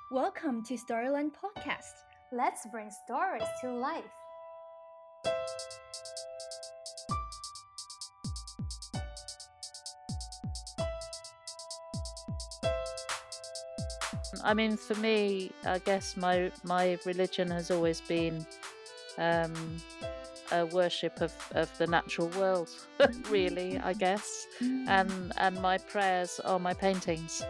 Welcome to Storyland Podcast. Let's bring stories to life. I mean, for me, I guess my religion has always been a worship of the natural world, really, I guess. And my prayers are my paintings.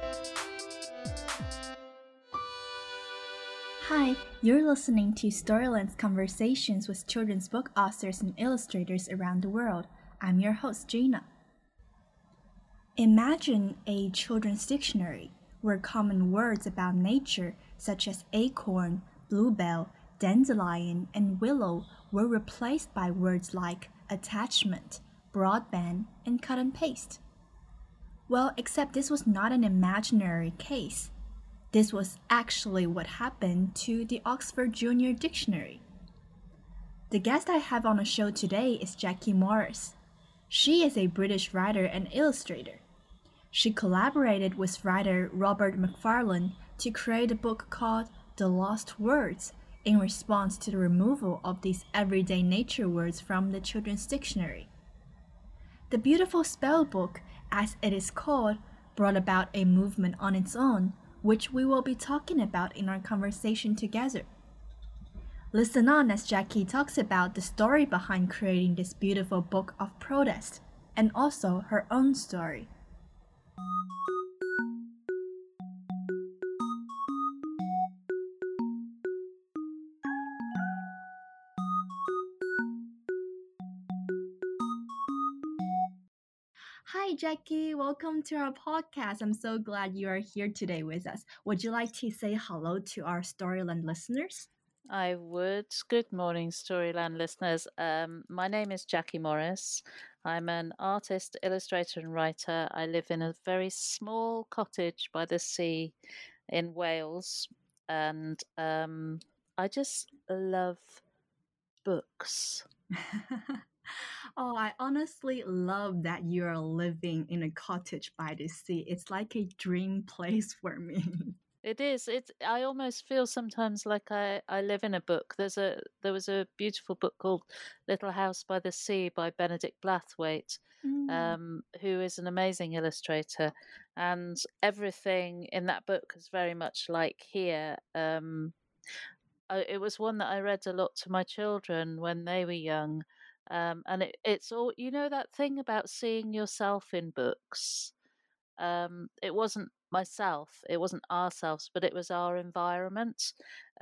Hi, you're listening to Storyland's conversations with children's book authors and illustrators around the world. I'm your host, Gina. Imagine a children's dictionary where common words about nature, such as acorn, bluebell, dandelion, and willow, were replaced by words like attachment, broadband, and cut and paste. Well, except this was not an imaginary case. This was actually what happened to the Oxford Junior Dictionary. The guest I have on the show today is Jackie Morris. She is a British writer and illustrator. She collaborated with writer Robert Macfarlane to create a book called The Lost Words in response to the removal of these everyday nature words from the children's dictionary. The Beautiful Spell book, as it is called, brought about a movement on its own, which we will be talking about in our conversation together. Listen on as Jackie talks about the story behind creating this beautiful book of protest, and also her own story. Hi, Jackie. Welcome to our podcast. I'm so glad you are here today with us. Would you like to say hello to our Storyland listeners? I would. Good morning, Storyland listeners. My name is Jackie Morris. I'm an artist, illustrator, and writer. I live in a very small cottage by the sea in Wales, and I just love books. Oh, I honestly love that you're living in a cottage by the sea. It's like a dream place for me. It is. I almost feel sometimes like I live in a book. There was a beautiful book called Little House by the Sea by Benedict Blathwaite, who is an amazing illustrator, and everything in that book is very much like here. It was one that I read a lot to my children when they were young, and it's all that thing about seeing yourself in books. It wasn't myself, it wasn't ourselves, but it was our environment.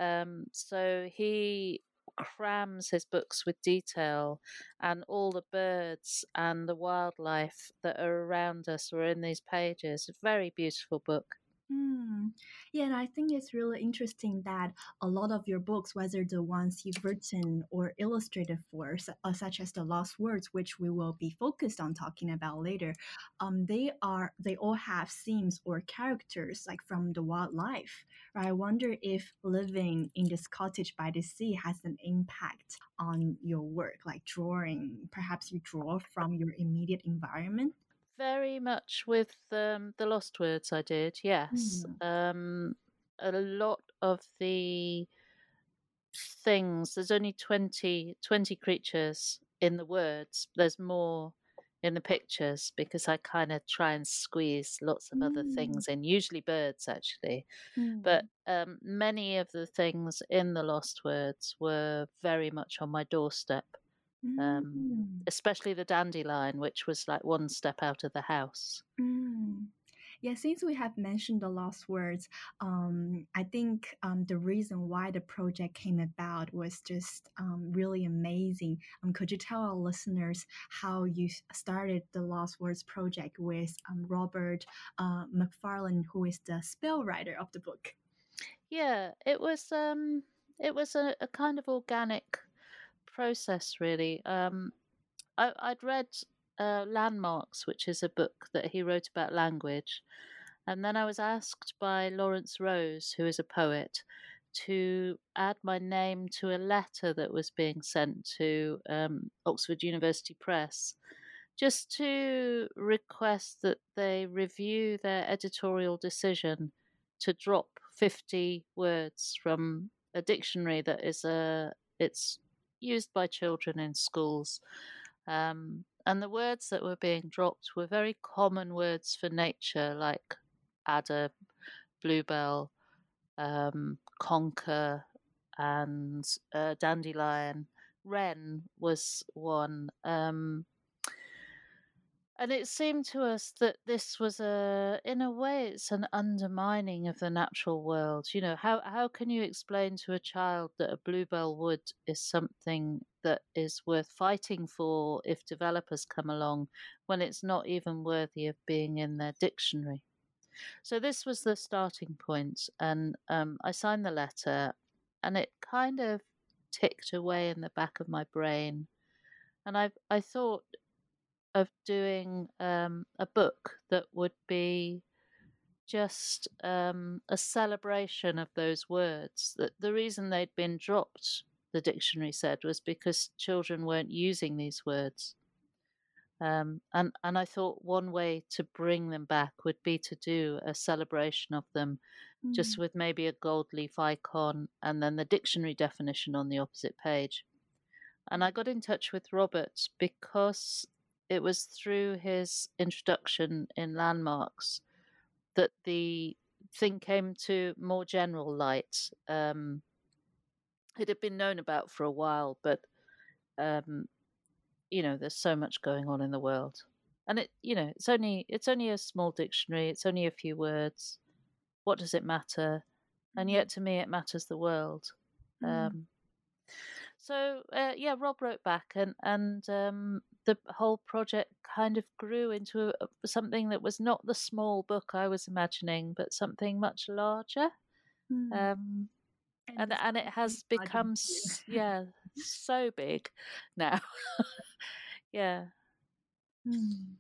So he crams his books with detail, and all the birds and the wildlife that are around us were in these pages. A very beautiful book. Hmm. Yeah, and I think it's really interesting that a lot of your books, whether the ones you've written or illustrated for, such as The Lost Words, which we will be focused on talking about later, they all have themes or characters like from the wildlife. Right? I wonder if living in this cottage by the sea has an impact on your work, like drawing. Perhaps you draw from your immediate environment. Very much with the Lost Words I did, yes. Mm. A lot of the things, there's only 20 creatures in the words. There's more in the pictures because I kind of try and squeeze lots of other Mm. things in, usually birds actually. But Mm. many of the things in the Lost Words were very much on my doorstep, Mm. especially the dandelion, which was like one step out of the house. Mm. Yeah, since we have mentioned the lost words, I think the reason why the project came about was just really amazing. Could you tell our listeners how you started the Lost Words project with Robert McFarlane, who is the spell writer of the book? Yeah, it was a kind of organic process, really. I'd read Landmarks, which is a book that he wrote about language, and then I was asked by Lawrence Rose, who is a poet, to add my name to a letter that was being sent to Oxford University Press, just to request that they review their editorial decision to drop 50 words from a dictionary that it's used by children in schools. And the words that were being dropped were very common words for nature, like adder, bluebell, conker, and dandelion. Wren was one. And it seemed to us that this was in a way, it's an undermining of the natural world. You know, how can you explain to a child that a bluebell wood is something that is worth fighting for if developers come along when it's not even worthy of being in their dictionary? So this was the starting point, and I signed the letter, and it kind of ticked away in the back of my brain. And I thought of doing a book that would be just a celebration of those words. That the reason they'd been dropped, the dictionary said, was because children weren't using these words. And I thought one way to bring them back would be to do a celebration of them, just Mm. with maybe a gold leaf icon and then the dictionary definition on the opposite page. And I got in touch with Robert because it was through his introduction in Landmarks that the thing came to more general light. It had been known about for a while, but um, there's so much going on in the world, and it's only a small dictionary. It's only a few words. What does it matter? And Mm. yet, to me, it matters the world. Mm. Um, So Rob wrote back, and the whole project kind of grew into something that was not the small book I was imagining, but something much larger. Mm. Um, And and the and it size is has larger become too. so big now. Yeah. Mm.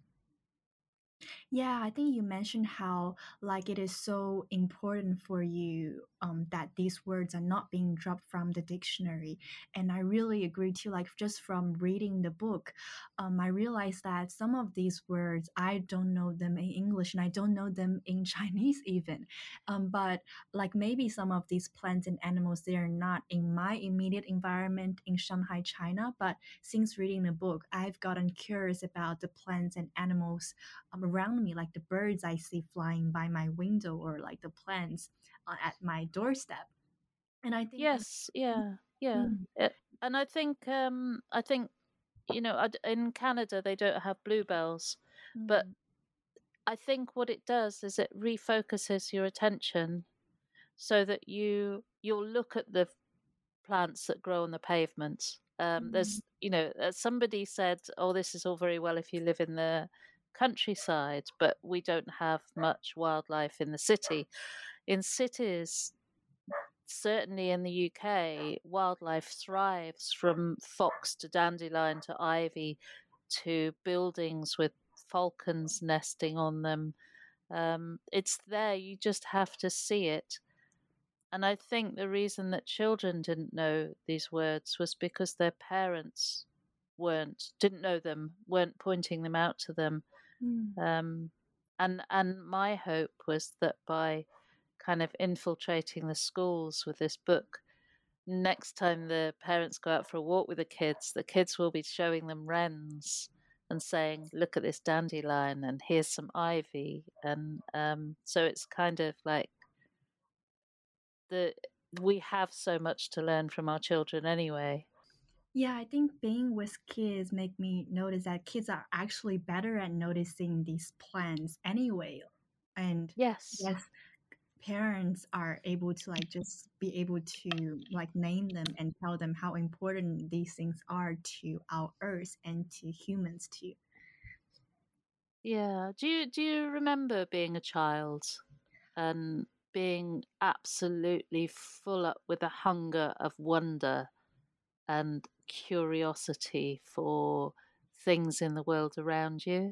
Yeah, I think you mentioned how like it is so important for you that these words are not being dropped from the dictionary, and I really agree too. Like just from reading the book, I realized that some of these words I don't know them in English and I don't know them in Chinese even. But like maybe some of these plants and animals they are not in my immediate environment in Shanghai, China. But since reading the book, I've gotten curious about the plants and animals around me, like the birds I see flying by my window or like the plants at my doorstep. And I think, Yes. Yeah. Yeah. mm, And I think in Canada they don't have bluebells, but mm, I think what it does is it refocuses your attention so that you'll look at the plants that grow on the pavement. mm, There's somebody said, "Oh, this is all very well if you live in the countryside, but we don't have much wildlife in the city." In cities, certainly in the UK, wildlife thrives from fox to dandelion to ivy to buildings with falcons nesting on them. It's there, you just have to see it. And I think the reason that children didn't know these words was because their parents didn't know them, weren't pointing them out to them. mm. Um, and my hope was that by kind of infiltrating the schools with this book, next time the parents go out for a walk with the kids will be showing them wrens and saying, "Look at this dandelion, and here's some ivy." And so it's kind of like the we have so much to learn from our children anyway. Yeah, I think being with kids make me notice that kids are actually better at noticing these plants anyway. And Yes. yes, parents are able to like just be able to like name them and tell them how important these things are to our earth and to humans too. Yeah. Do you remember being a child and being absolutely full up with a hunger of wonder and curiosity for things in the world around you?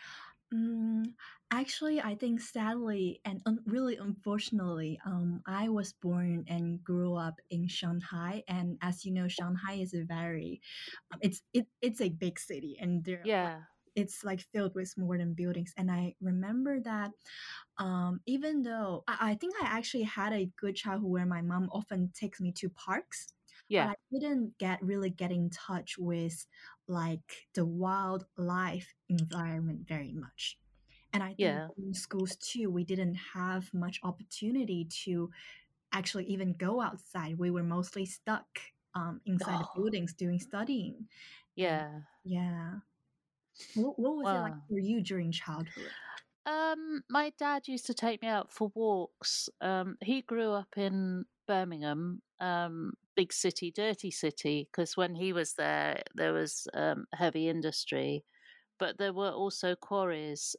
Mm, actually, I think sadly and really unfortunately, I was born and grew up in Shanghai, and as you know, Shanghai is a very, it's a big city, and there like Yeah. it's like filled with modern buildings. And I remember that even though I think I actually had a good childhood where my mom often takes me to parks, but Yeah, I didn't get in touch with like the wildlife environment very much. And I think yeah, in schools too, we didn't have much opportunity to actually even go outside. We were mostly stuck inside the oh, buildings doing studying. And yeah. yeah, what was it like Wow. for you during childhood? My dad used to take me out for walks. He grew up in Birmingham, big city, dirty city, because when he was there, there was heavy industry, but there were also quarries,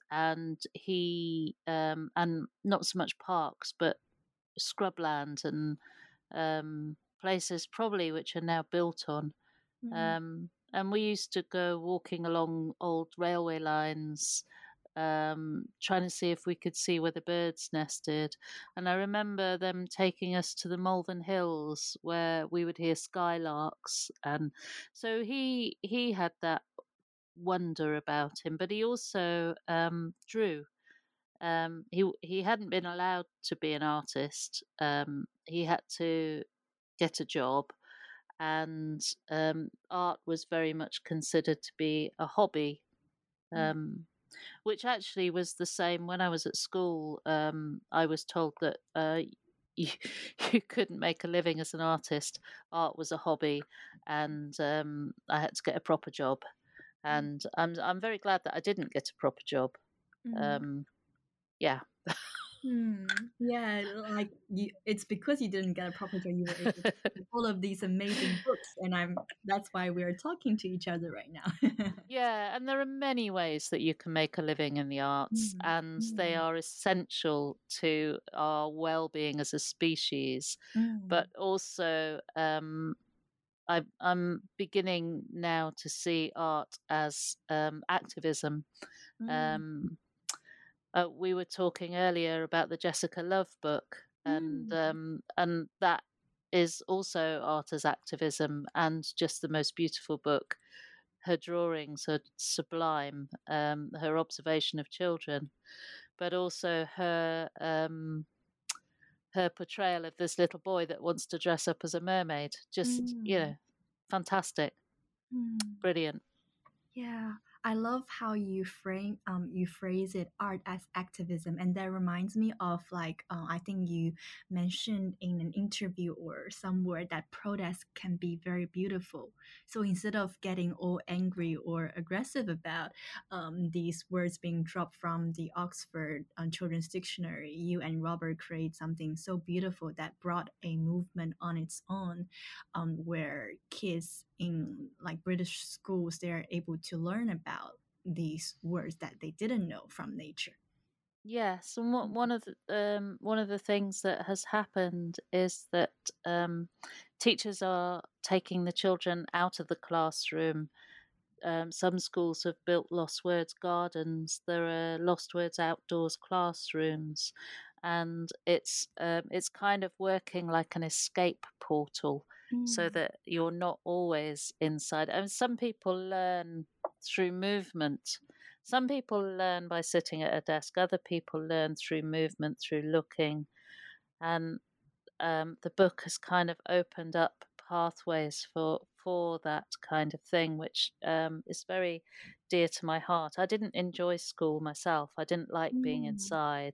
and not so much parks, but scrubland and places probably which are now built on. Mm, And we used to go walking along old railway lines, trying to see if we could see where the birds nested. And I remember them taking us to the Malvern Hills where we would hear skylarks. And so he had that wonder about him, but he also drew. He hadn't been allowed to be an artist. He had to get a job, and art was very much considered to be a hobby, mm, um, which actually was the same when I was at school. I was told that you, you couldn't make a living as an artist. Art was a hobby, and I had to get a proper job. And I'm very glad that I didn't get a proper job. mm. Um, yeah, Yeah, like it's because you didn't get a proper job, you were able to read all of these amazing books, and that's why we're talking to each other right now. yeah, and there are many ways that you can make a living in the arts, Mm, and they mm, are essential to our well-being as a species. But mm, also, I'm beginning now to see art as activism. mm, Um, we were talking earlier about the Jessica Love book, mm, and that is also art as activism, and just the most beautiful book. Her drawings are sublime. Her observation of children, but also her portrayal of this little boy that wants to dress up as a mermaid. Just mm, fantastic, mm. brilliant. Yeah, I love how you phrase it art as activism, and that reminds me of like I think you mentioned in an interview or somewhere that protest can be very beautiful. So instead of getting all angry or aggressive about these words being dropped from the Oxford Children's Dictionary, you and Robert create something so beautiful that brought a movement on its own, where kids in like British schools they're able to learn about these words that they didn't know from nature. Yes, and one of the things that has happened is that teachers are taking the children out of the classroom. Some schools have built lost words gardens. There are lost words outdoors classrooms, and it's kind of working like an escape portal, so Mm, that you're not always inside. And some people learn through movement. Some people learn by sitting at a desk. Other people learn through movement, through looking, and the book has kind of opened up pathways for that kind of thing, which is very dear to my heart. I didn't enjoy school myself. I didn't like being mm, inside.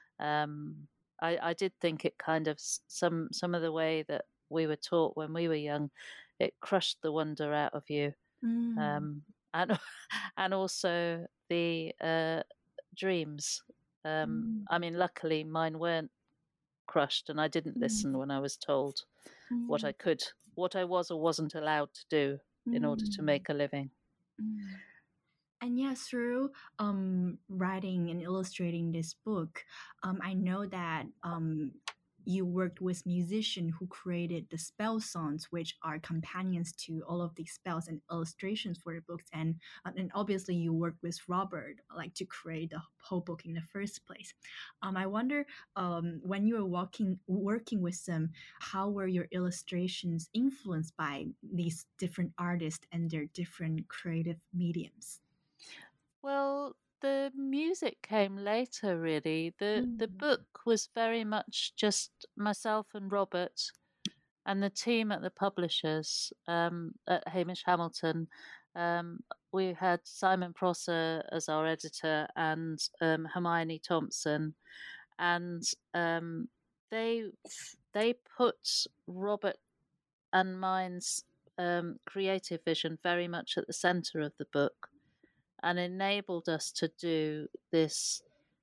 I did think it kind of some of the way that we were taught when we were young, it crushed the wonder out of you, mm, um, and and also the dreams. mm, I mean, luckily mine weren't crushed, and I didn't listen mm, when I was told mm, what I was or wasn't allowed to do in order to mm, make a living. mm. And yeah, through writing and illustrating this book, I know that you worked with musicians who created the spell songs, which are companions to all of these spells and illustrations for the books. And obviously, you worked with Robert, like to create the whole book in the first place. I wonder when you were working with them, how were your illustrations influenced by these different artists and their different creative mediums? Well, the music came later, really. The Mm. book was very much just myself and Robert and the team at the publishers, at Hamish Hamilton. Um, we had Simon Prosser as our editor and Hermione Thompson, and um, they they put Robert and mine's creative vision very much at the center of the book and enabled us to do this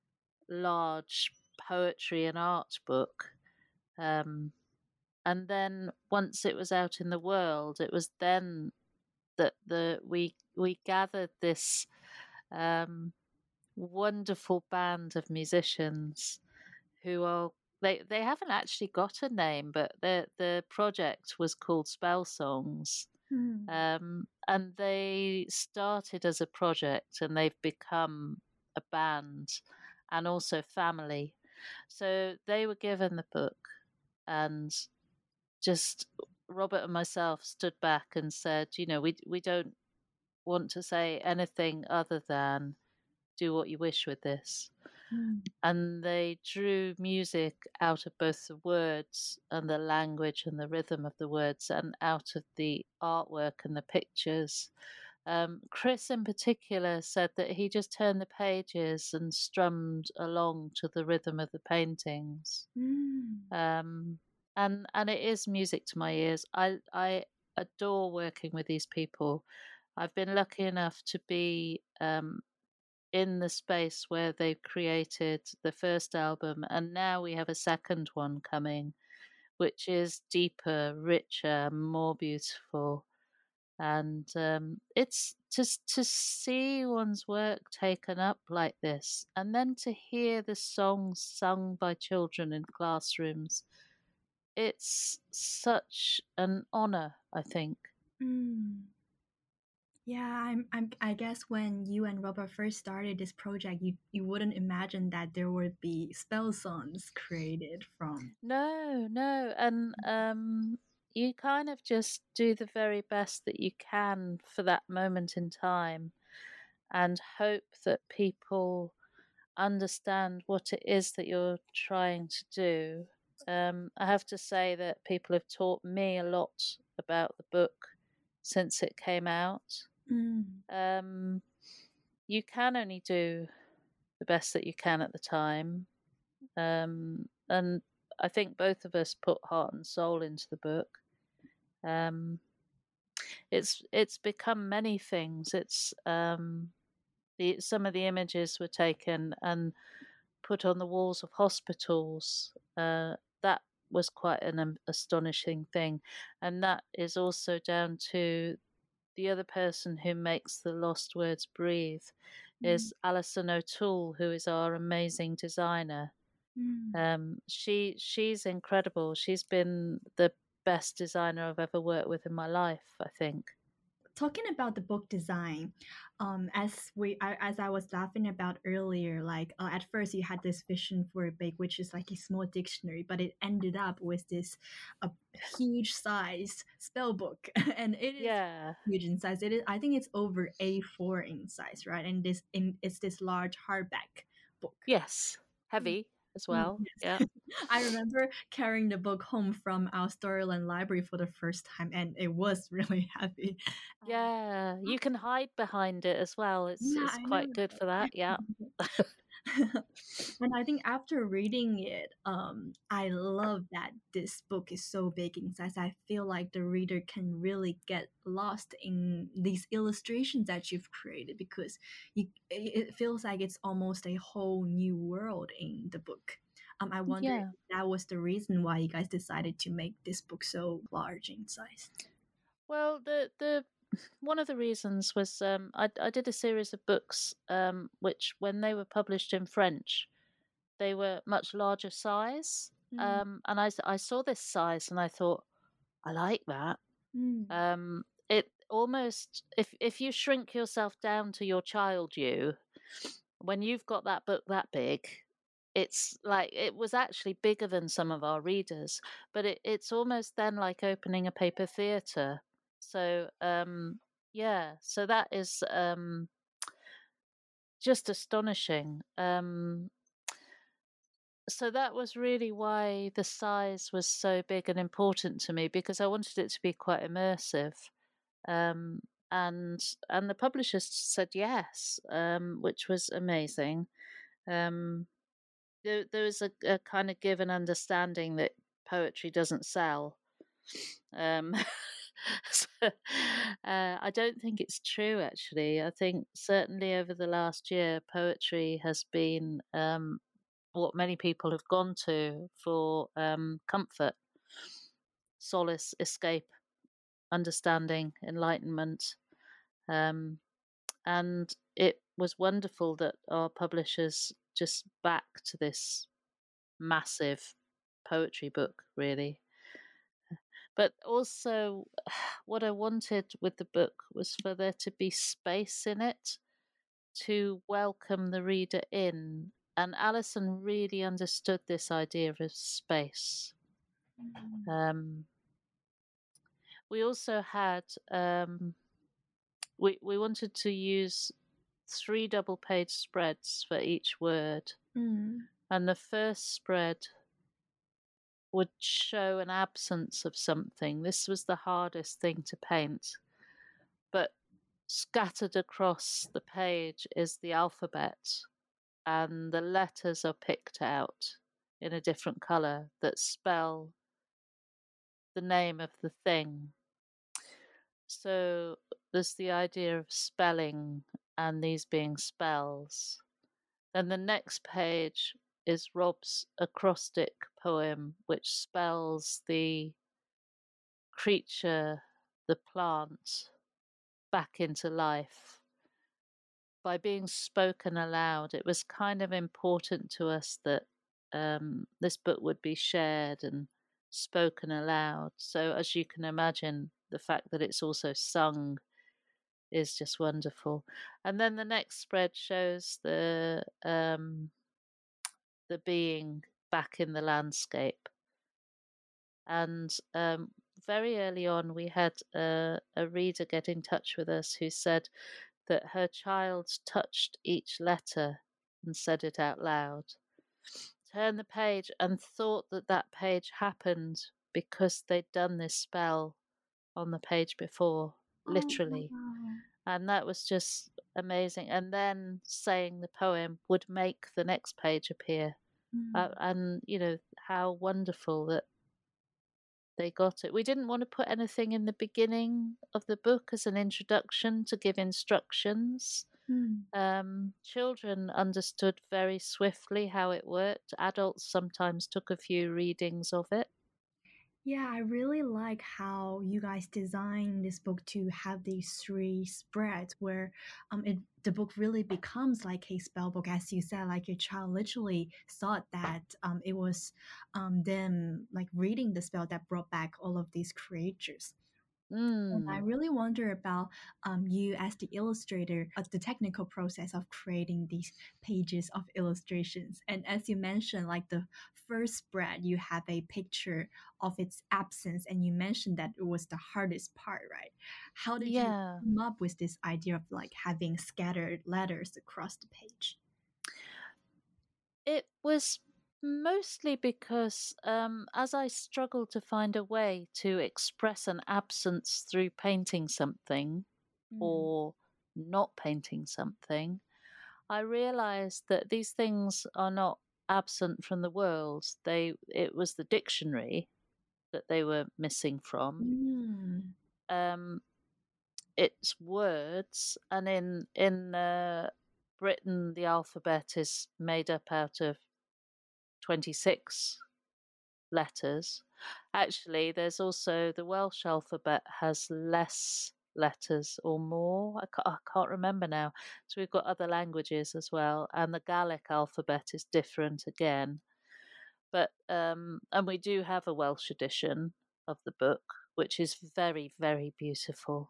large poetry and art book. Um, and then once it was out in the world, it was then that we gathered this um, wonderful band of musicians who are they haven't actually got a name, but the project was called Spell Songs. Mm. And they started as a project and they've become a band and also family. So they were given the book, and just Robert and myself stood back and said, we don't want to say anything other than do what you wish with this. Mm. And they drew music out of both the words and the language and the rhythm of the words and out of the artwork and the pictures. Chris, in particular, said that he just turned the pages and strummed along to the rhythm of the paintings. Mm. Um, and it is music to my ears. I adore working with these people. I've been lucky enough to be in the space where they've created the first album, and now we have a second one coming, which is deeper, richer, more beautiful. And it's just to see one's work taken up like this, and then to hear the songs sung by children in classrooms. It's such an honor, I think. Mm. Yeah, I guess when you and Robert first started this project, you wouldn't imagine that there would be spell songs created from. No, no, and you kind of just do the very best that you can for that moment in time and hope that people understand what it is that you're trying to do. I have to say that people have taught me a lot about the book since it came out. Mm. Um, you can only do the best that you can at the time. And I think both of us put heart and soul into the book. Um, it's become many things. It's some of the images were taken and put on the walls of hospitals. That was quite an astonishing thing, and that is also down to the other person who makes the lost words breathe. Mm. Is Alison O'Toole, who is our amazing designer. Mm. She's incredible. She's been the best designer I've ever worked with in my life, I think. Talking about the book design, as I was laughing about earlier, like at first you had this vision for a big, which is like a small dictionary, but it ended up with this huge size spell book, and it is Yeah. huge in size. It is, I think it's over A4 in size, right? And it's this large hardback book. Yes. Heavy as well. Yeah. Yes. I remember carrying the book home from our Storyland library for the first time, and it was really heavy. And Yeah. You can hide behind it as well. It's yeah, it's I know. quite good for that. Yeah. And I think after reading it, I love that this book is so big in size. I feel like the reader can really get lost in these illustrations that you've created because it feels like it's almost a whole new world in the book. I wonder if Yeah. that was the reason why you guys decided to make this book so large in size. Well, the one of the reasons was I did a series of books which, when they were published in French, they were much larger size. Mm. And I saw this size and I thought, I like that. Mm. It almost, if you shrink yourself down to your child you, when you've got that book that big, it's like it was actually bigger than some of our readers, but it's almost then like opening a paper theatre. So yeah, so that is just astonishing. So that was really why the size was so big and important to me, because I wanted it to be quite immersive. Um, and the publishers said yes, which was amazing. Um, there was a kind of given understanding that poetry doesn't sell. Um, so, I don't think it's true, actually. I think certainly over the last year, poetry has been what many people have gone to for comfort, solace, escape, understanding, enlightenment. Um, and it was wonderful that our publishers just backed this massive poetry book, really. But also, what I wanted with the book was for there to be space in it to welcome the reader in. And Alison really understood this idea of space. We also had, we wanted to use 3 double page spreads for each word. And the first spread would show an absence of something. This was the hardest thing to paint. But scattered across the page is the alphabet, and the letters are picked out in a different colour that spell the name of the thing. So there's the idea of spelling and these being spells. Then the next page is Rob's acrostic poem, which spells the creature, the plant, back into life. By being spoken aloud, it was kind of important to us that this book would be shared and spoken aloud. So, as you can imagine, the fact that it's also sung is just wonderful. And then the next spread shows the being back in the landscape. And very early on, we had a reader get in touch with us who said that her child touched each letter and said it out loud, turned the page and thought that that page happened because they'd done this spell on the page before, literally. Wow. And that was just amazing. And then saying the poem would make the next page appear. And, you know, how wonderful that they got it. We didn't want to put anything in the beginning of the book as an introduction to give instructions. Children understood very swiftly how it worked. Adults sometimes took a few readings of it. Yeah, I really like how you guys designed this book to have these 3 spreads where the book really becomes like a spell book, as you said, like your child literally thought that it was them like reading the spell that brought back all of these creatures. And I really wonder about you as the illustrator, the technical process of creating these pages of illustrations. And as you mentioned, like the first spread, you have a picture of its absence, and you mentioned that it was the hardest part, right? How did you Yeah. come up with this idea of like having scattered letters across the page? It was mostly because as I struggled to find a way to express an absence through painting something or not painting something, I realized that these things are not absent from the world. It was the dictionary that they were missing from. It's words, and in Britain, the alphabet is made up out of 26 letters. Actually, there's also the Welsh alphabet has less letters or more. I can't remember now. So we've got other languages as well, and the Gaelic alphabet is different again. But and we do have a Welsh edition of the book, which is very, very beautiful.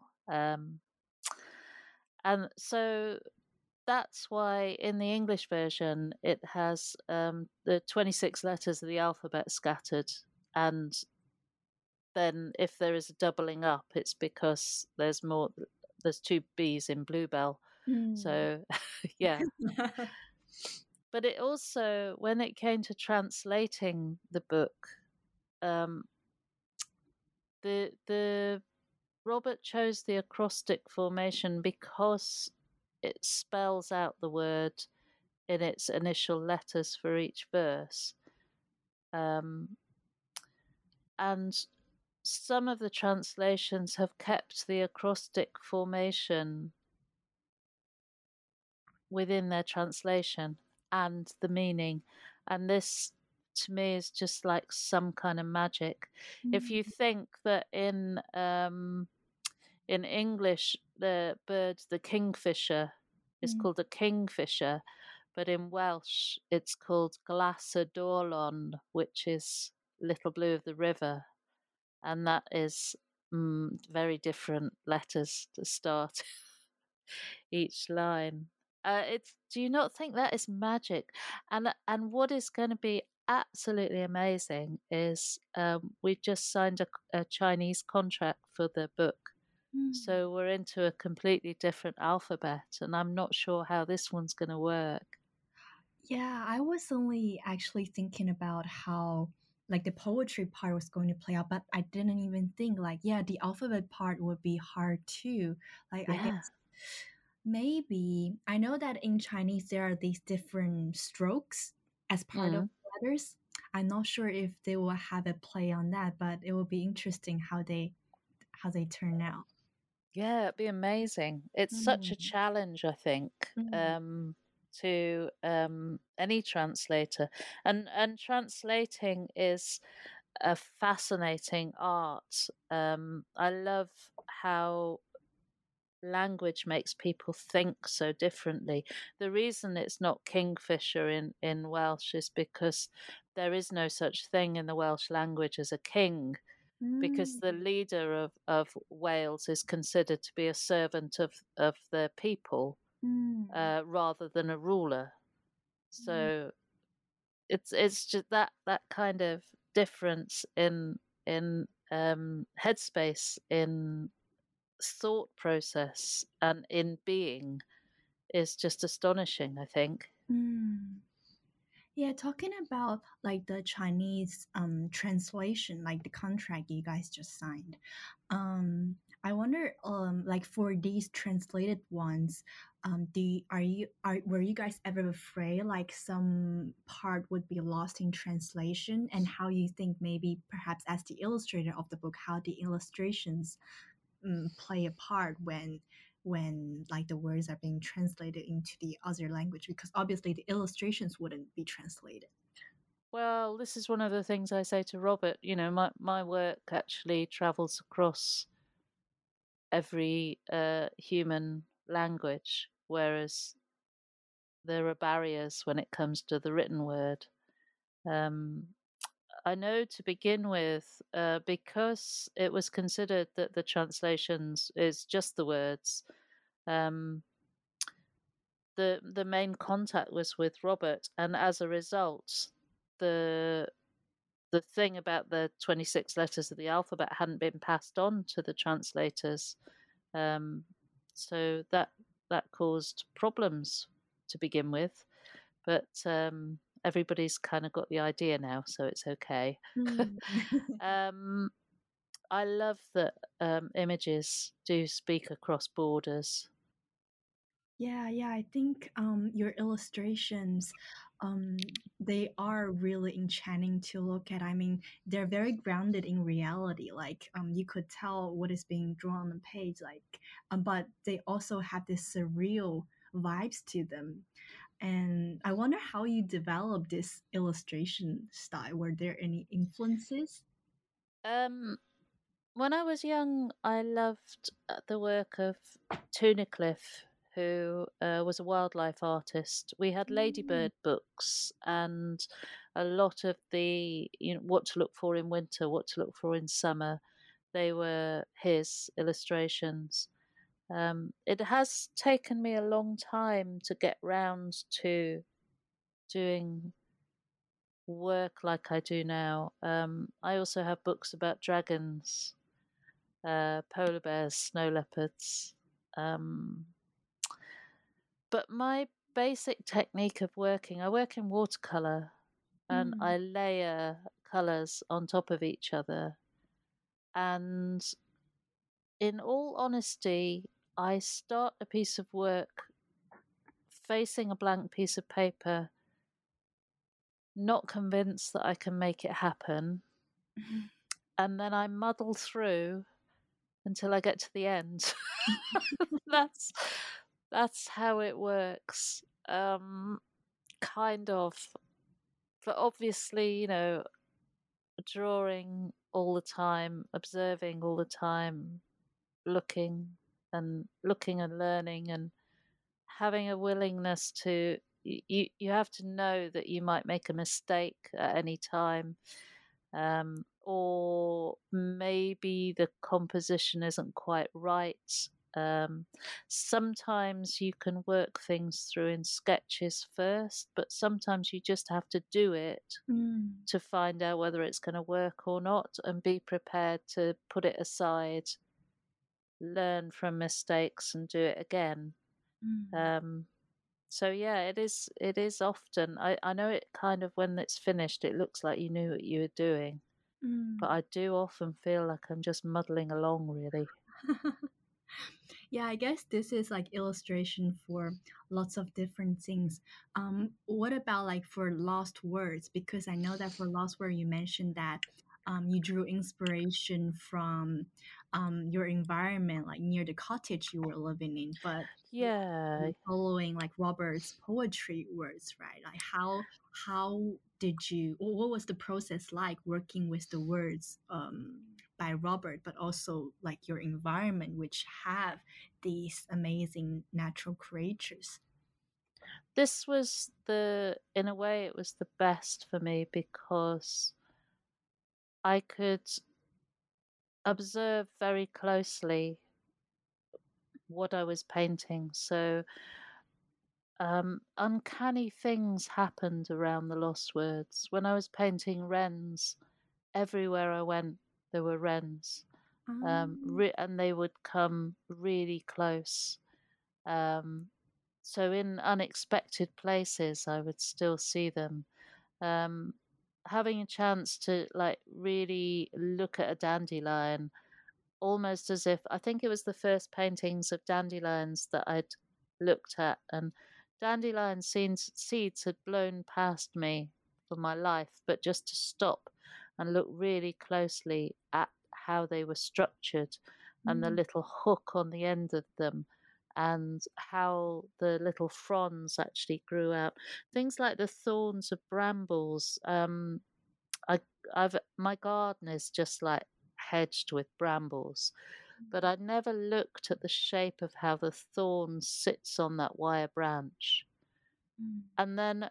And so that's why in the English version it has the 26 letters of the alphabet scattered, and then if there is a doubling up, it's because there's 2 B's in Bluebell Mm. So, yeah. But it also, when it came to translating the book, um, the Robert chose the acrostic formation because it spells out the word in its initial letters for each verse. Um, and some of the translations have kept the acrostic formation within their translation and the meaning. And this, to me, is just like some kind of magic. If you Mm. think that in English, the bird, the kingfisher, is Mm. called a kingfisher, but in Welsh, it's called Glas y Dorlon, which is Little Blue of the River. And that is very different letters to start each line. It's. Do you not think that is magic? And what is going to be absolutely amazing is we just signed a Chinese contract for the book, Mm. so we're into a completely different alphabet, and I'm not sure how this one's going to work. Yeah, I was only actually thinking about how like the poetry part was going to play out, but I didn't even think like, yeah, the alphabet part would be hard too. Like I Yeah. guess maybe I know that in Chinese there are these different strokes as part of Mm. letters. I'm not sure if they will have a play on that, but it will be interesting how they turn out. Yeah, it'd be amazing. It's such a Mm. challenge, I think, Mm. to any translator, and translating is a fascinating art. I love how language makes people think so differently. The reason it's not kingfisher in Welsh is because there is no such thing in the Welsh language as a king, because Mm. the leader of Wales is considered to be a servant of the people Mm. rather than a ruler. Mm. So it's just that kind of difference in headspace, in thought process, and in being is just astonishing, I think. Mm. Yeah, talking about like the Chinese translation, like the contract you guys just signed. I wonder like for these translated ones, were you guys ever afraid like some part would be lost in translation, and how you think maybe perhaps as the illustrator of the book how the illustrations play a part when like the words are being translated into the other language, because obviously the illustrations wouldn't be translated. Well, this is one of the things I say to Robert. My work actually travels across every human language, whereas there are barriers when it comes to the written word. Um, I know to begin with, because it was considered that the translations is just the words. Um, the main contact was with Robert, and as a result, the the thing about the 26 letters of the alphabet hadn't been passed on to the translators. Um, so that caused problems to begin with, but everybody's kind of got the idea now, so it's okay. Mm. um, I love that images do speak across borders. Yeah, yeah, I think your illustrations, they are really enchanting to look at. I mean, they're very grounded in reality. Like, you could tell what is being drawn on the page. Like, but they also have this surreal vibes to them. And I wonder how you developed this illustration style. Were there any influences? Um, when I was young, I loved the work of Tunicliffe, who was a wildlife artist. We had Mm. ladybird books, and a lot of the what to look for in winter, what to look for in summer. They were his illustrations. It has taken me a long time to get round to doing work like I do now. I also have books about dragons, polar bears, snow leopards. Um, But my basic technique of working, I work in watercolor and Mm. I layer colors on top of each other. And in all honesty, I start a piece of work facing a blank piece of paper, not convinced that I can make it happen. And then I muddle through until I get to the end. that's that's how it works. Kind of. But obviously, drawing all the time, observing all the time, looking and learning and having a willingness to you have to know that you might make a mistake at any time, or maybe the composition isn't quite right. Um, Sometimes you can work things through in sketches first, but sometimes you just have to do it Mm. to find out whether it's going to work or not and be prepared to put it aside, learn from mistakes and do it again. Mm. Um, so yeah, it is often I know it kind of when it's finished it looks like you knew what you were doing, but Mm. I do often feel like I'm just muddling along really. Yeah, I guess this is like illustration for lots of different things. What about like for lost words? Because I know that for lost word, you mentioned that you drew inspiration from your environment, like near the cottage you were living in, but Yeah. following like Robert's poetry words, right? Like how did you? What was the process like working with the words by Robert, but also like your environment, which have these amazing natural creatures? This was in a way it was the best for me because I could observe very closely what I was painting. So uncanny things happened around the lost words. When I was painting wrens, everywhere I went, there were wrens, Um, and they would come really close. Um, so in unexpected places, I would still see them. Um, Having a chance to like really look at a dandelion, almost as if I think it was the first paintings of dandelions that I'd looked at, and dandelion seeds had blown past me for my life, but just to stop and look really closely at how they were structured and the mm, little hook on the end of them and how the little fronds actually grew out. Things like the thorns of brambles. I I've my garden is just like hedged with brambles, but I'd never looked at the shape of how the thorn sits on that wire branch. mm, And then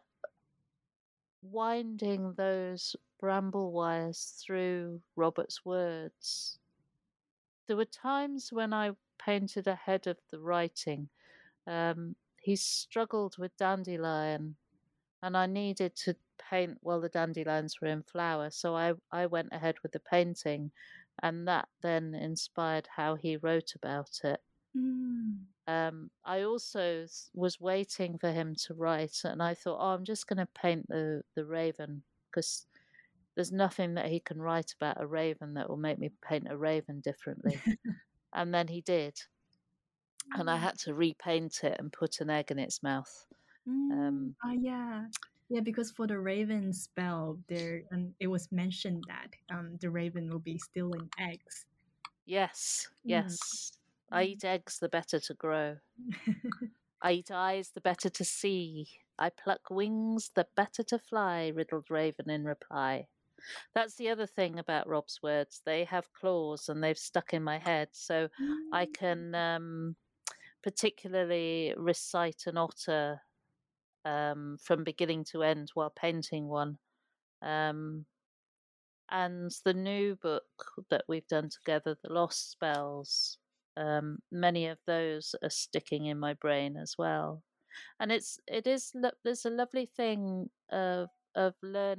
winding those bramble wires through Robert's words. There were times when I painted ahead of the writing. He struggled with dandelion and I needed to paint while the dandelions were in flower. So I went ahead with the painting, and that then inspired how he wrote about it. mm, I also was waiting for him to write, and I thought, oh, I'm just going to paint the raven because there's nothing that he can write about a raven that will make me paint a raven differently. And then he did, and I had to repaint it and put an egg in its mouth. mm. Um, Yeah. Yeah, because for the raven spell, there it was mentioned that the raven will be stealing eggs. Yes, Mm. yes. I eat eggs the better to grow. I eat eyes the better to see. I pluck wings the better to fly, riddled Raven in reply. That's the other thing about Rob's words. They have claws and they've stuck in my head. So I Mm, can particularly recite an otter from beginning to end while painting one. Um, and the new book that we've done together, The Lost Spells, many of those are sticking in my brain as well. And there's a lovely thing of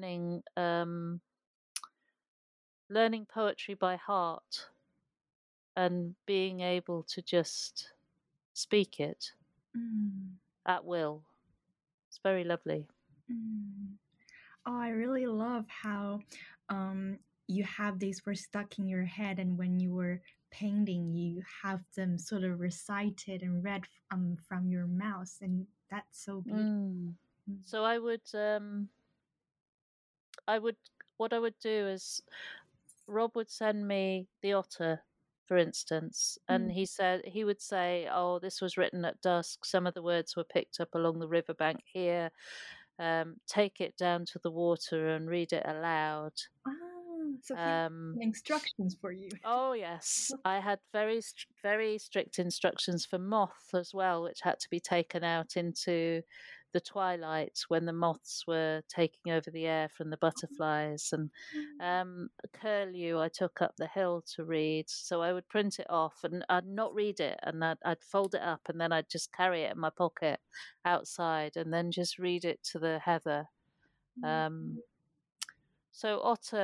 learning poetry by heart and being able to just speak it. mm. at will. It's very lovely. Mm. Oh, I really love how you have these words stuck in your head, and when you were painting, you have them sort of recited and read from your mouth, and that's so beautiful. Mm. Mm. So I would what I would do is Rob would send me the otter, for instance, and Mm. he would say, "Oh, this was written at dusk. Some of the words were picked up along the riverbank here. Take it down to the water and read it aloud." Ah, so he had Um, instructions for you. oh yes, I had very strict instructions for moth as well, which had to be taken out into the twilight when the moths were taking over the air from the butterflies. And curlew I took up the hill to read, so I would print it off and I'd not read it, and I'd fold it up and then I'd just carry it in my pocket outside and then just read it to the heather. So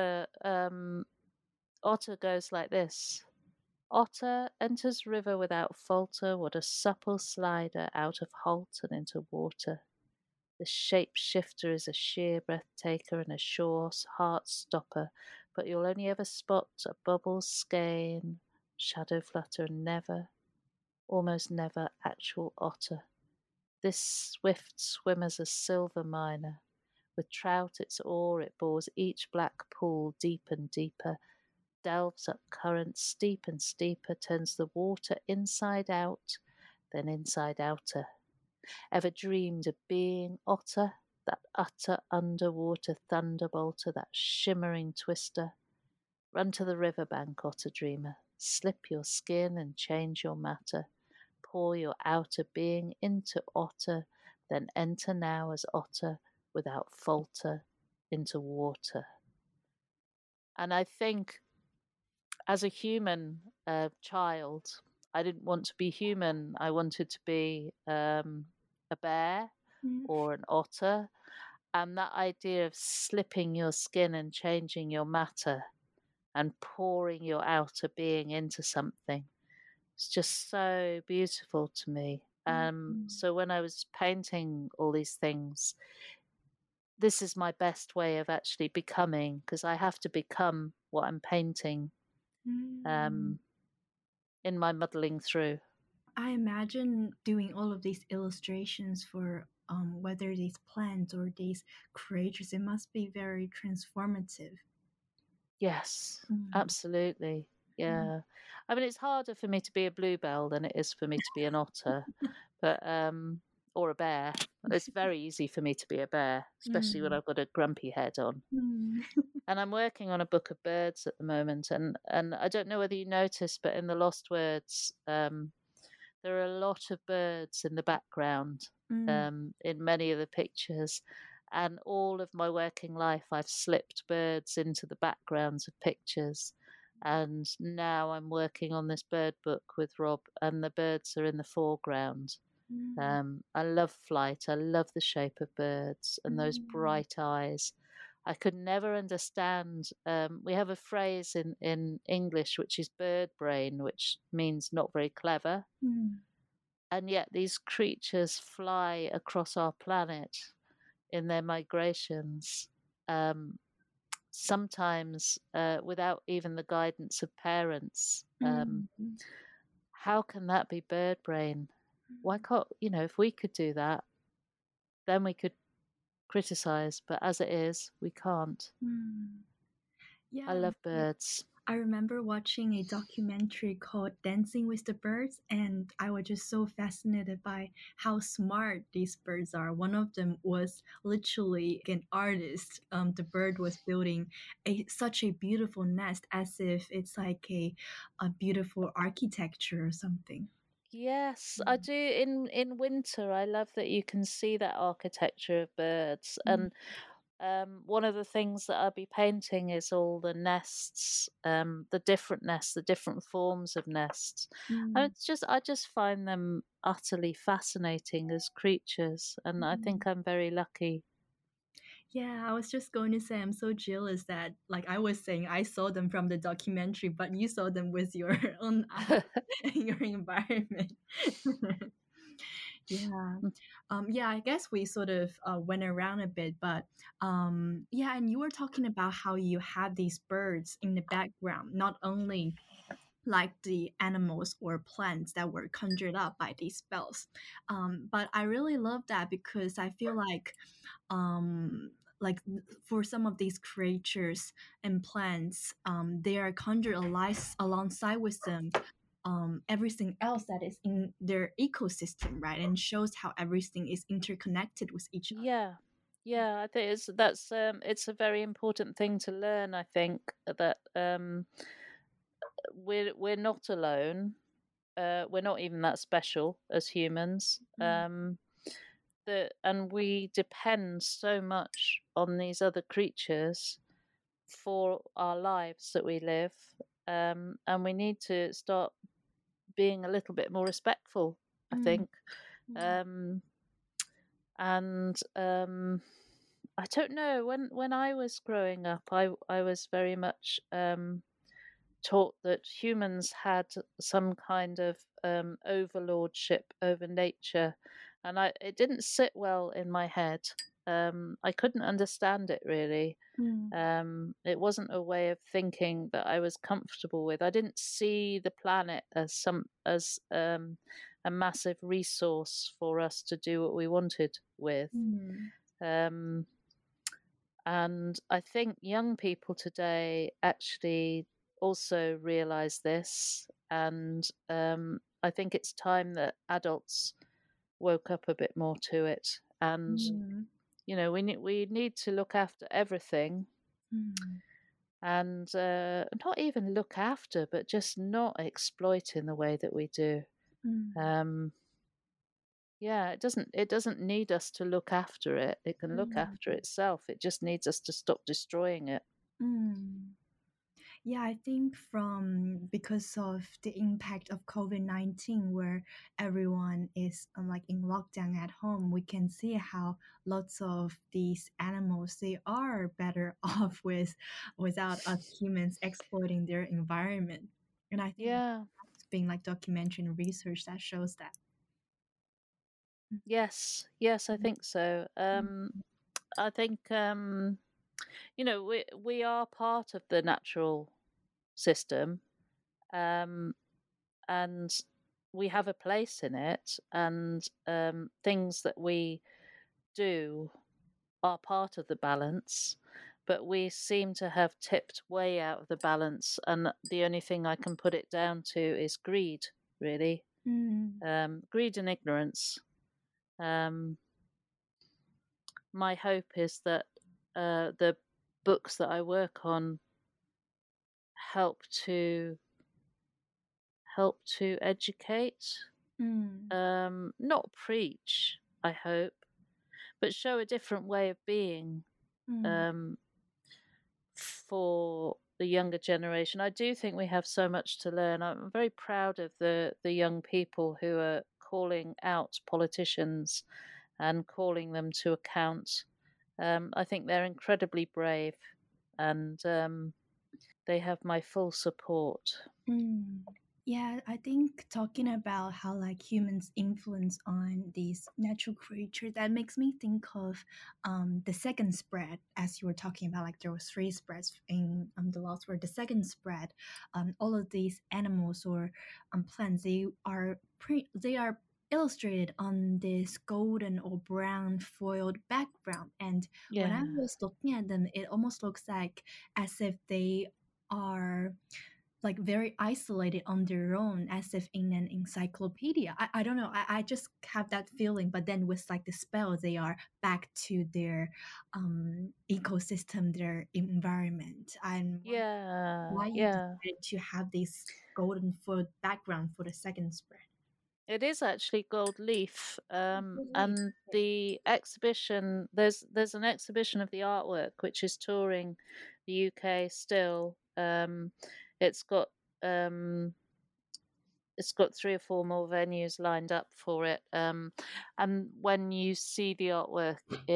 otter goes like this. Otter enters river without falter. What a supple slider out of halt and into water. The shape shifter is a sheer breath taker and a sure heart stopper, but you'll only ever spot a bubble skein, shadow flutter, and never, almost never, actual otter. This swift swimmer's a silver miner. With trout its oar it bores each black pool deep and deeper, delves up currents steep and steeper, turns the water inside out, then inside outer. Ever dreamed of being otter, that utter underwater thunderbolter, that shimmering twister? Run to the river bank, otter dreamer, slip your skin and change your matter, pour your outer being into otter, then enter now as otter without falter into water. And I think as a human child, I didn't want to be human. I wanted to be a bear or an otter. And that idea of slipping your skin and changing your matter and pouring your outer being into something, it's just so beautiful to me. So when I was painting all these things, this is my best way of actually becoming, because I have to become what I'm painting in my muddling through. I imagine doing all of these illustrations for whether these plants or these creatures, it must be very transformative. Yes, Mm. absolutely. Yeah. I mean, it's harder for me to be a bluebell than it is for me to be an otter, but or a bear. It's very easy for me to be a bear, especially when I've got a grumpy head on. Mm. And I'm working on a book of birds at the moment, and I don't know whether you noticed, but in the Lost Words, there are a lot of birds in the background in many of the pictures. And all of my working life, I've slipped birds into the backgrounds of pictures. And now I'm working on this bird book with Rob, and the birds are in the foreground. I love flight. I love the shape of birds and those bright eyes. I could never understand. We have a phrase in English which is bird brain, which means not very clever. And yet these creatures fly across our planet in their migrations, sometimes without even the guidance of parents. How can that be bird brain? Why can't, if we could do that, then we could criticize, but as it is, we can't. Yeah, I love birds. I remember watching a documentary called Dancing with the Birds, and I was just so fascinated by how smart these birds are. One of them was literally an artist. The bird was building such a beautiful nest, as if it's like a beautiful architecture or something. Yes, I do. In winter, I love that you can see that architecture of birds. And one of the things that I'll be painting is all the nests, the different nests, the different forms of nests. And I just find them utterly fascinating as creatures, and I think I'm very lucky. Yeah, I was just going to say I'm so jealous that, like I was saying, I saw them from the documentary, but you saw them with your own eyes in your environment. Yeah. Yeah, I guess we sort of went around a bit, but yeah, and you were talking about how you had these birds in the background, not only like the animals or plants that were conjured up by these spells. But I really love that because I feel um, like for some of these creatures and plants, they are conjured alongside with them. Everything else that is in their ecosystem, right? And shows how everything is interconnected with each other. Yeah. Yeah, I think it's a very important thing to learn, I think, that we're not alone. We're not even that special as humans. Mm, And we depend so much on these other creatures for our lives that we live. And we need to start being a little bit more respectful, I mm, think. yeah. Um, and I don't know, when I was growing up, I was very much taught that humans had some kind of overlordship over nature, and it didn't sit well in my head. I couldn't understand it really. Mm, It wasn't a way of thinking that I was comfortable with. I didn't see the planet as a massive resource for us to do what we wanted with. mm, Um, and I think young people today actually also realize this. And I think it's time that adults woke up a bit more to it. And, mm, we need to look after everything, mm, and not even look after, but just not exploit in the way that we do. mm, Um, yeah, it doesn't need us to look after it. It can look mm, after itself. It just needs us to stop destroying it. mm. Yeah, I think from because of the impact of COVID-19, where everyone is like in lockdown at home, we can see how lots of these animals they are better off without us humans exploiting their environment. And I think Yeah. that's been like documentary and research that shows that. Yes. Yes, I think so. I think we are part of the natural system, um, and we have a place in it, and things that we do are part of the balance, but we seem to have tipped way out of the balance, and the only thing I can put it down to is greed, really. Mm, Greed and ignorance. Um, my hope is that the books that I work on help to educate, mm, not preach, I hope, but show a different way of being, mm, um, for the younger generation. I do think we have so much to learn. I'm very proud of the young people who are calling out politicians and calling them to account. I think they're incredibly brave, and they have my full support. mm. Yeah, I think talking about how like humans influence on these natural creatures, that makes me think of the second spread, as you were talking about, like there was three spreads in the Lost World. The second spread, all of these animals or plants, they are illustrated on this golden or brown foiled background. And when I Yeah, was looking at them, it almost looks like as if they are like very isolated on their own as if in an encyclopedia. I don't know, I just have that feeling, but then with like the spell they are back to their ecosystem, their environment. I'm wondering yeah, why you yeah. decided to have this golden foot background for the second spread. It is actually gold leaf, Really? and the exhibition there's an exhibition of the artwork which is touring the UK still. It's got um, it's got 3 or 4 more venues lined up for it. And when you see the artwork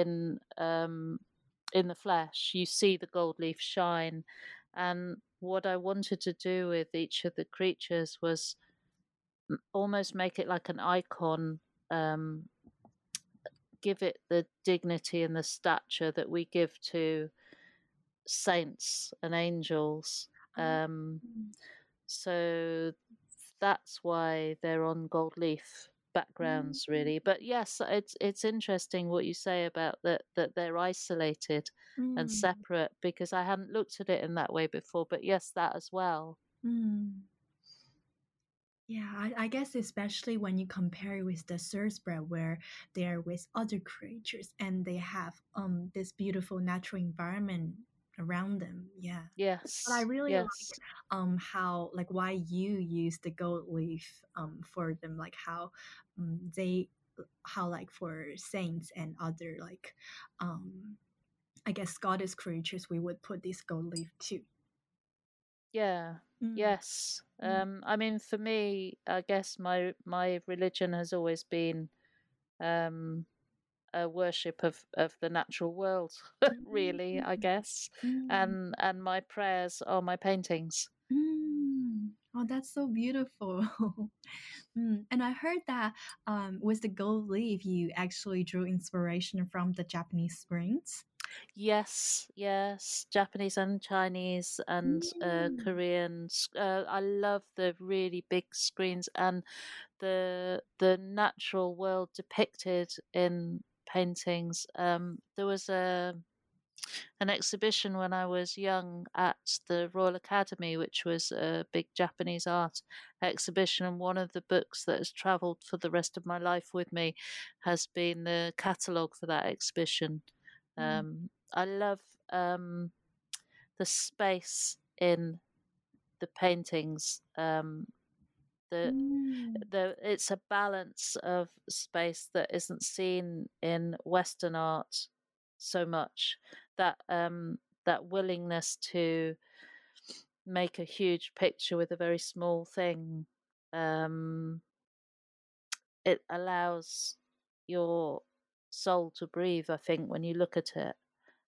in the flesh, you see the gold leaf shine. And what I wanted to do with each of the creatures was almost make it like an icon, um, give it the dignity and the stature that we give to saints and angels. Ah, So that's why they're on gold leaf backgrounds, mm, really. But yes, it's interesting what you say about that they're isolated and mm, separate, because I hadn't looked at it in that way before. But yes, that as well. mm. Yeah, I guess especially when you compare it with the Surspread, where they're with other creatures and they have this beautiful natural environment around them. Yeah. But I Yes, really yes, like how like why you use the gold leaf for them, like how they how like for saints and other like um I guess goddess creatures we would put this gold leaf too. yeah, Mm, yes. mm, I mean, for me, I guess my religion has always been um a worship of the natural world, really, I mm, guess. mm. And my prayers are my paintings. Mm. Oh, that's so beautiful. And I heard that with the gold leaf, you actually drew inspiration from the Japanese springs. Yes, yes, Japanese and Chinese and Mm. Korean. I love the really big screens and the natural world depicted in paintings. There was an exhibition when I was young at the Royal Academy, which was a big Japanese art exhibition. And one of the books that has travelled for the rest of my life with me has been the catalogue for that exhibition. Mm. I love the space in the paintings. The Mm. it's a balance of space that isn't seen in Western art so much. That willingness to make a huge picture with a very small thing. Um, it allows your soul to breathe, I think, when you look at it.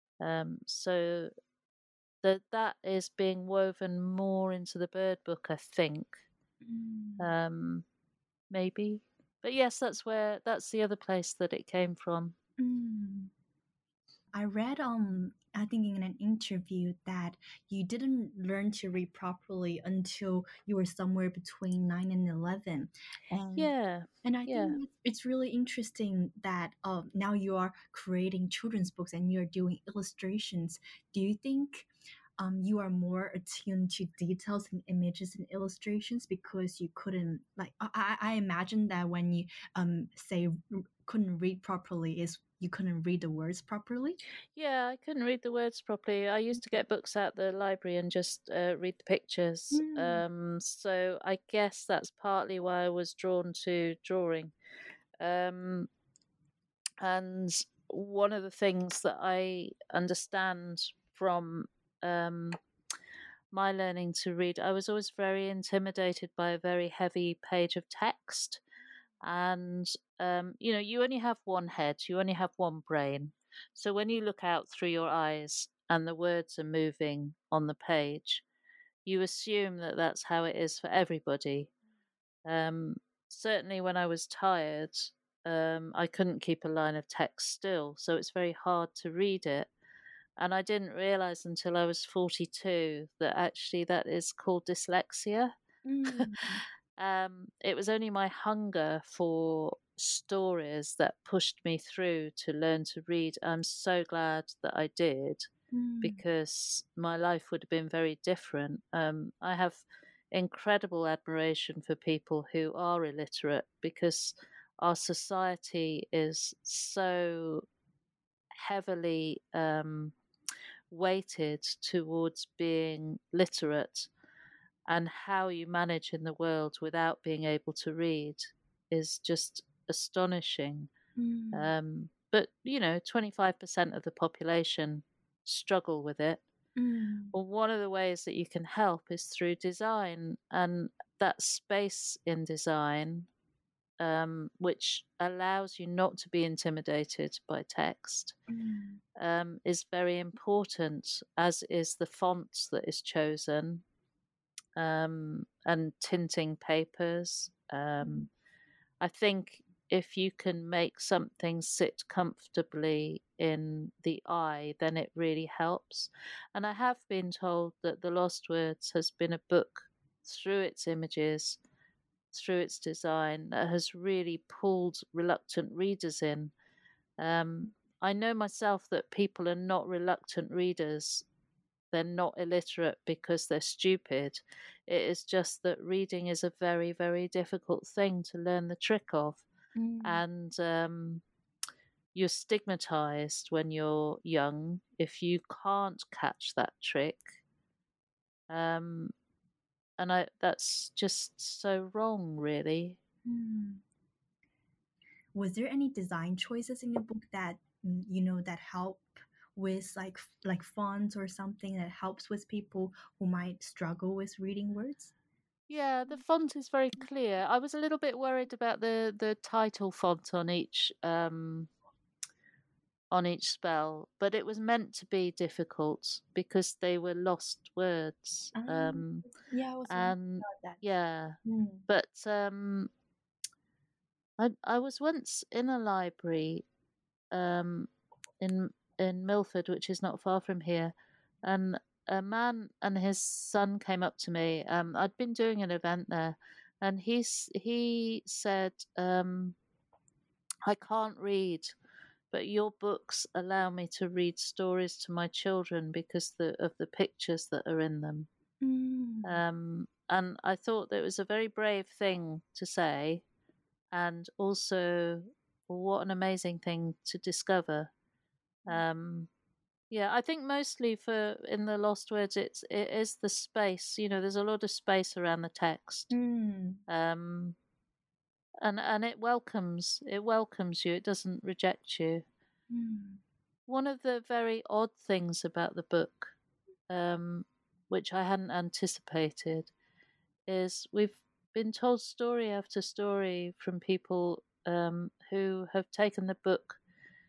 So that is being woven more into the bird book, I think. Mm. Um, maybe. But yes, that's the other place that it came from. Mm. I read I think in an interview that you didn't learn to read properly until you were somewhere between 9 and 11. And Yeah. and I think Yeah. it's really interesting that now you are creating children's books and you're doing illustrations. Do you think you are more attuned to details and images and illustrations because you couldn't like I imagine that when you say couldn't read properly is you couldn't read the words properly. Yeah, I couldn't read the words properly. I used to get books out the library and just read the pictures. Mm, So I guess that's partly why I was drawn to drawing. Um, and one of the things that I understand from um, my learning to read, I was always very intimidated by a very heavy page of text. And you only have one head, you only have one brain. So when you look out through your eyes and the words are moving on the page, you assume that that's how it is for everybody. um, Certainly when I was tired, I couldn't keep a line of text still, so it's very hard to read it. And I didn't realize until I was 42 that actually that is called dyslexia. mm, It was only my hunger for stories that pushed me through to learn to read. I'm so glad that I did, mm, because my life would have been very different. I have incredible admiration for people who are illiterate, because our society is so heavily weighted towards being literate, and how you manage in the world without being able to read is just astonishing. mm, But 25% of the population struggle with it. mm, Well, one of the ways that you can help is through design, and that space in design, which allows you not to be intimidated by text, mm, is very important, as is the font that is chosen, and tinting papers. I think. if you can make something sit comfortably in the eye, then it really helps. And I have been told that The Lost Words has been a book through its images, through its design, that has really pulled reluctant readers in. I know myself that people are not reluctant readers. They're not illiterate because they're stupid. It is just that reading is a very, very difficult thing to learn the trick of. Mm. And you're stigmatized when you're young if you can't catch that trick. Um, and that's just so wrong, really. Mm. Was there any design choices in the book that that help with like fonts or something that helps with people who might struggle with reading words? Yeah, the font is very clear. I was a little bit worried about the title font on each spell, but it was meant to be difficult because they were lost words. Um, yeah, I was wondering And about that. yeah, Mm. but I was once in a library um, in Milford, which is not far from here, and a man and his son came up to me. I'd been doing an event there, and he said, "I can't read, but your books allow me to read stories to my children because of the pictures that are in them." Mm. And I thought that it was a very brave thing to say, and also what an amazing thing to discover. Um, yeah, I think mostly for in the Lost Words, it is the space. You know, there's a lot of space around the text, Mm. um, and it welcomes you. It doesn't reject you. Mm. One of the very odd things about the book, um, which I hadn't anticipated, is we've been told story after story from people who have taken the book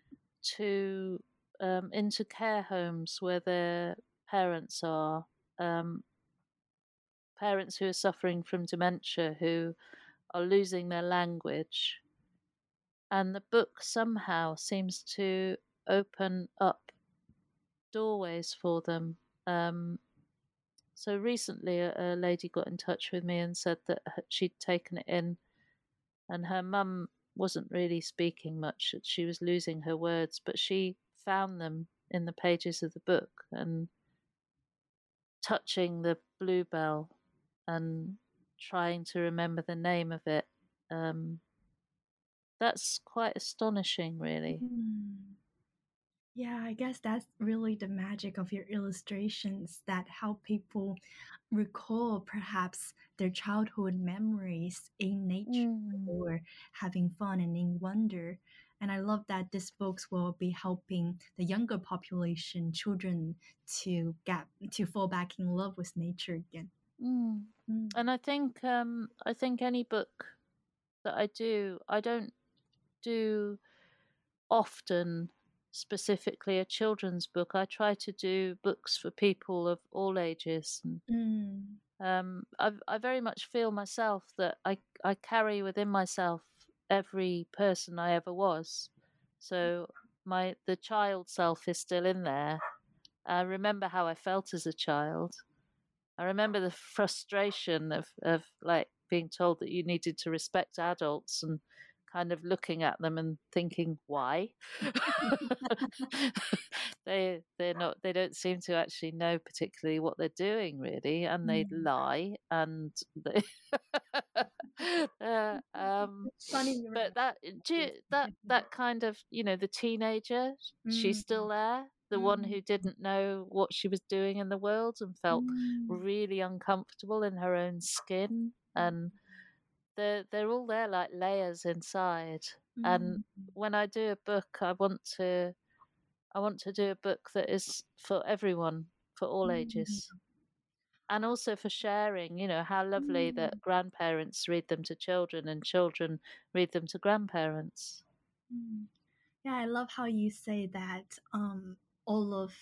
to into care homes where their parents are, um, parents who are suffering from dementia, who are losing their language, and the book somehow seems to open up doorways for them. Um, so recently, a lady got in touch with me and said that she'd taken it in, and her mum wasn't really speaking much. She was losing her words, but she found them in the pages of the book and touching the bluebell and trying to remember the name of it. Um, that's quite astonishing, really. Mm. Yeah, I guess that's really the magic of your illustrations that help people recall perhaps their childhood memories in nature Mm, or having fun and in wonder. And I love that these books will be helping the younger population, children, to fall back in love with nature again. mm. Mm. And I think any book that I don't do often specifically a children's book. I try to do books for people of all ages. And Mm. I very much feel myself that I carry within myself every person I ever was. So the child self is still in there. I remember how I felt as a child. I remember the frustration of like being told that you needed to respect adults and kind of looking at them and thinking why. They don't seem to actually know particularly what they're doing really, and they'd Mm. lie and they Funny you but remember this. that kind of, you know, the teenager, she's Mm. still there, the one Mm. who didn't know what she was doing in the world and felt Mm. really uncomfortable in her own skin, and they're all there like layers inside. And Mm. when I do a book, I want to do a book that is for everyone, for all Mm. ages. And also for sharing, you know, how lovely Mm. that grandparents read them to children and children read them to grandparents. Mm. Yeah, I love how you say that all of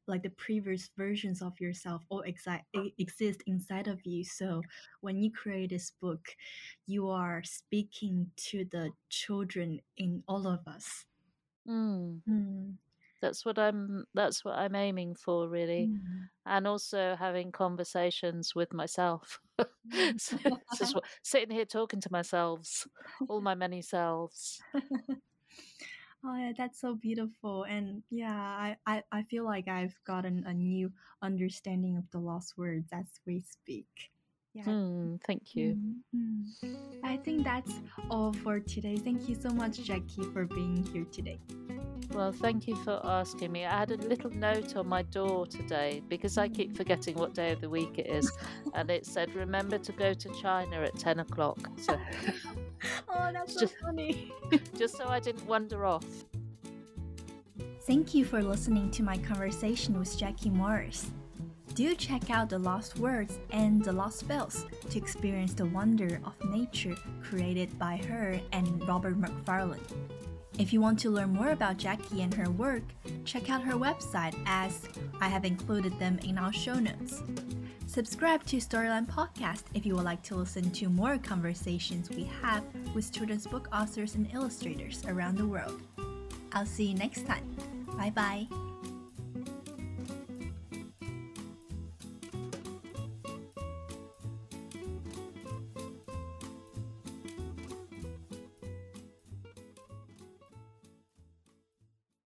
like the previous versions of yourself all exist inside of you. So when you create this book, you are speaking to the children in all of us. Mm. Mm. That's what I'm aiming for, really. Mm. And also having conversations with myself. So this is what sitting here talking to myself, all my many selves. Oh yeah, that's so beautiful. And yeah, I feel like I've gotten a new understanding of the lost words as we speak. Yeah. Thank you. I think that's all for today. Thank you so much, Jackie, for being here today. Well, thank you for asking me. I had a little note on my door today because I keep forgetting what day of the week it is. And it said, remember to go to China at 10 o'clock. So Oh, that's so just, funny. just so I didn't wander off. Thank you for listening to my conversation with Jackie Morris. Do check out The Lost Words and The Lost Spells to experience the wonder of nature created by her and Robert McFarlane. If you want to learn more about Jackie and her work, check out her website as I have included them in our show notes. Subscribe to Storyline Podcast if you would like to listen to more conversations we have with children's book authors and illustrators around the world. I'll see you next time. Bye bye.